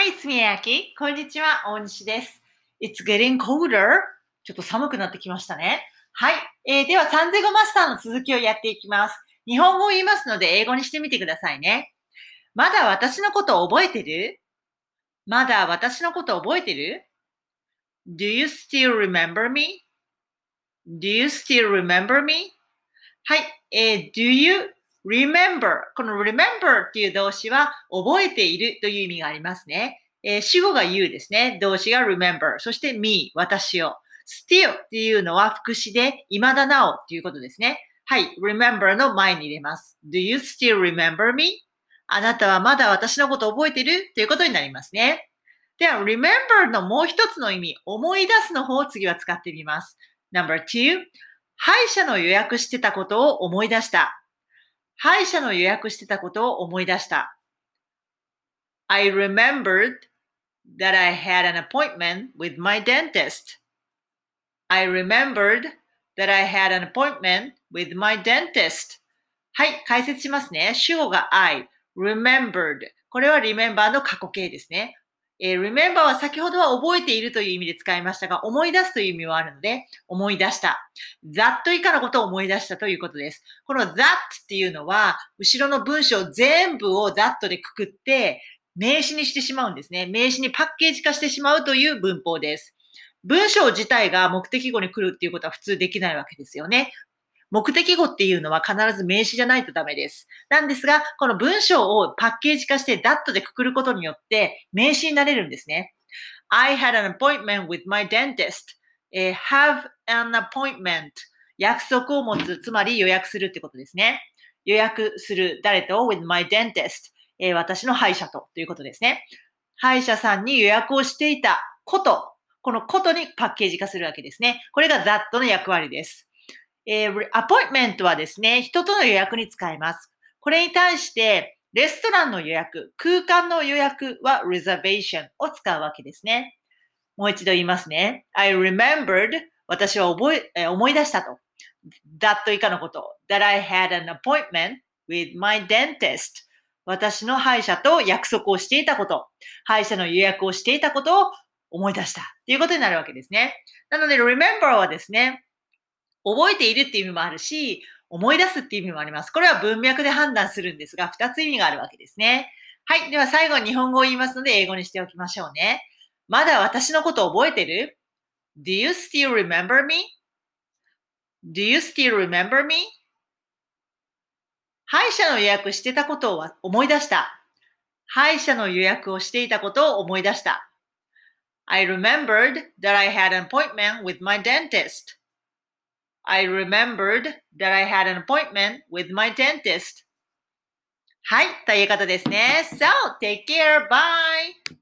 Hi, すみやき。こんにちは、大西です。It's getting colder. ちょっと寒くなってきましたね。はい。では、三ゼ語マスターの続きをやっていきます。日本語を言いますので、英語にしてみてくださいね。まだ私のことを覚えてる？まだ私のことを覚えてる？ Do you still remember me? Do you still remember me? はい。Do you remember? この remember っていう動詞は覚えているという意味がありますね。主語が you ですね。動詞が remember。そして me、私を。still っていうのは副詞で未だなおっていうことですね。はい。remember の前に入れます。Do you still remember me? あなたはまだ私のことを覚えてるということになりますね。では、remember のもう一つの意味、思い出すの方を次は使ってみます。No.2、歯医者の予約してたことを思い出した。歯医者の予約してたことを思い出した。I remembered that I had an appointment with my dentist. I remembered that I had an appointment with my dentist. はい、解説しますね。主語が I, remembered。これは remember の過去形ですね。remember は先ほどは覚えているという意味で使いましたが、思い出すという意味はあるので、思い出した。that 以下のことを思い出したということです。この that っていうのは、後ろの文章全部を that でくくって、名詞にしてしまうんですね。名詞にパッケージ化してしまうという文法です。文章自体が目的語に来るっていうことは普通できないわけですよね。目的語っていうのは必ず名詞じゃないとダメです。なんですが、この文章をパッケージ化して that でくくることによって名詞になれるんですね。I had an appointment with my dentist. have an appointment. 約束を持つ、つまり予約するってことですね。予約する、誰と with my dentist. 私の歯医者ということですね。歯医者さんに予約をしていたこと、このことにパッケージ化するわけですね。これが that の役割です。アポインメントはですね、人との予約に使います。これに対して、レストランの予約、空間の予約は reservation を使うわけですね。もう一度言いますね。I remembered 私は思い出したと。that 以下のこと。that I had an appointment with my dentist 私の歯医者と約束をしていたこと。歯医者の予約をしていたことを思い出した。ということになるわけですね。なので remember はですね、覚えているっていう意味もあるし、思い出すっていう意味もあります。これは文脈で判断するんですが、二つ意味があるわけですね。はい。では最後に日本語を言いますので、英語にしておきましょうね。まだ私のこと覚えてる？ Do you still remember me? Do you still remember me? 歯医者の予約してたことを思い出した。歯医者の予約をしていたことを思い出した。I remembered that I had an appointment with my dentist.I remembered that I had an appointment with my dentist. はい、ということですね。So, take care. Bye!